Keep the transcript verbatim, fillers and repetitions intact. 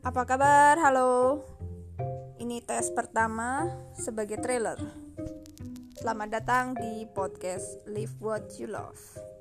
Apa kabar? Halo. Ini tes pertama sebagai trailer. Selamat datang di podcast Live What You Love.